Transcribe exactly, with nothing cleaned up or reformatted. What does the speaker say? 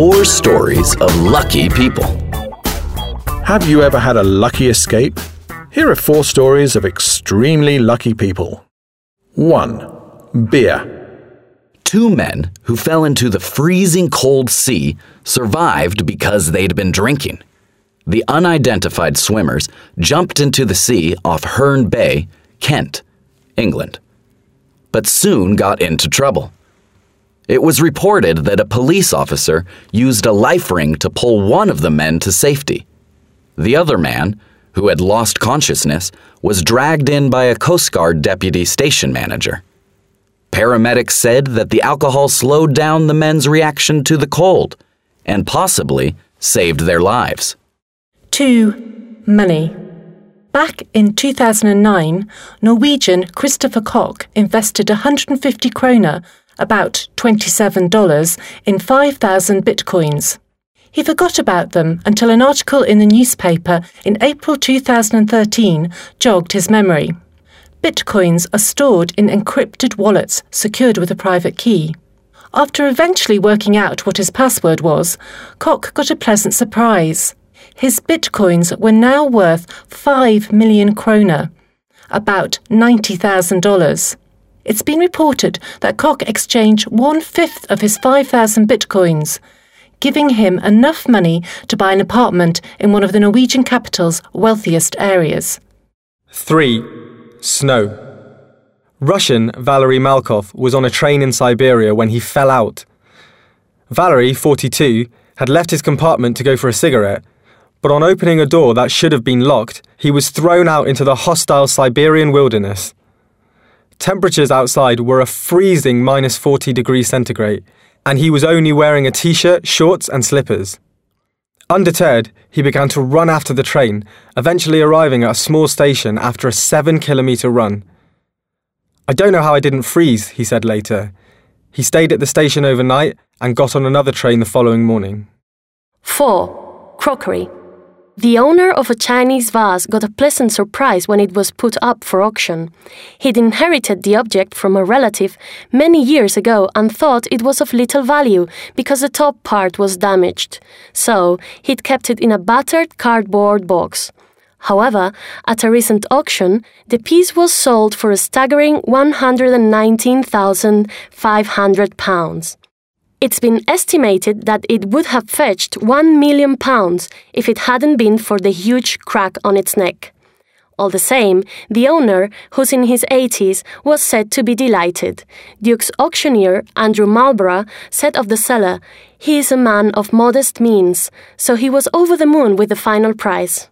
Four stories of lucky people. Have you ever had a lucky escape? Here are four stories of extremely lucky people. one. Beer. Two men who fell into the freezing cold sea survived because they'd been drinking. The unidentified swimmers jumped into the sea off Herne Bay, Kent, England, but soon got into trouble. It was reported that a police officer used a life ring to pull one of the men to safety. The other man, who had lost consciousness, was dragged in by a Coast Guard deputy station manager. Paramedics said that the alcohol slowed down the men's reaction to the cold and possibly saved their lives. two. Money. Back in two thousand nine, Norwegian Christopher Koch invested one hundred fifty kroner, about twenty-seven dollars, in five thousand bitcoins. He forgot about them until an article in the newspaper in April two thousand thirteen jogged his memory. Bitcoins are stored in encrypted wallets secured with a private key. After eventually working out what his password was, Koch got a pleasant surprise. His bitcoins were now worth five million kroner, about ninety thousand dollars. It's been reported that Koch exchanged one-fifth of his five thousand bitcoins, giving him enough money to buy an apartment in one of the Norwegian capital's wealthiest areas. three. Snow. Russian Valery Malkov was on a train in Siberia when he fell out. Valery, forty-two, had left his compartment to go for a cigarette, but on opening a door that should have been locked, he was thrown out into the hostile Siberian wilderness. Temperatures outside were a freezing minus forty degrees centigrade, and he was only wearing a t-shirt, shorts and slippers. Undeterred, he began to run after the train, eventually arriving at a small station after a seven-kilometre run. "I don't know how I didn't freeze," he said later. He stayed at the station overnight and got on another train the following morning. four. Crockery. The owner of a Chinese vase got a pleasant surprise when it was put up for auction. He'd inherited the object from a relative many years ago and thought it was of little value because the top part was damaged. So he'd kept it in a battered cardboard box. However, at a recent auction, the piece was sold for a staggering one hundred nineteen thousand five hundred pounds. It's been estimated that it would have fetched one million pounds if it hadn't been for the huge crack on its neck. All the same, the owner, who's in his eighties, was said to be delighted. Duke's auctioneer, Andrew Marlborough, said of the seller, "He is a man of modest means, so he was over the moon with the final price."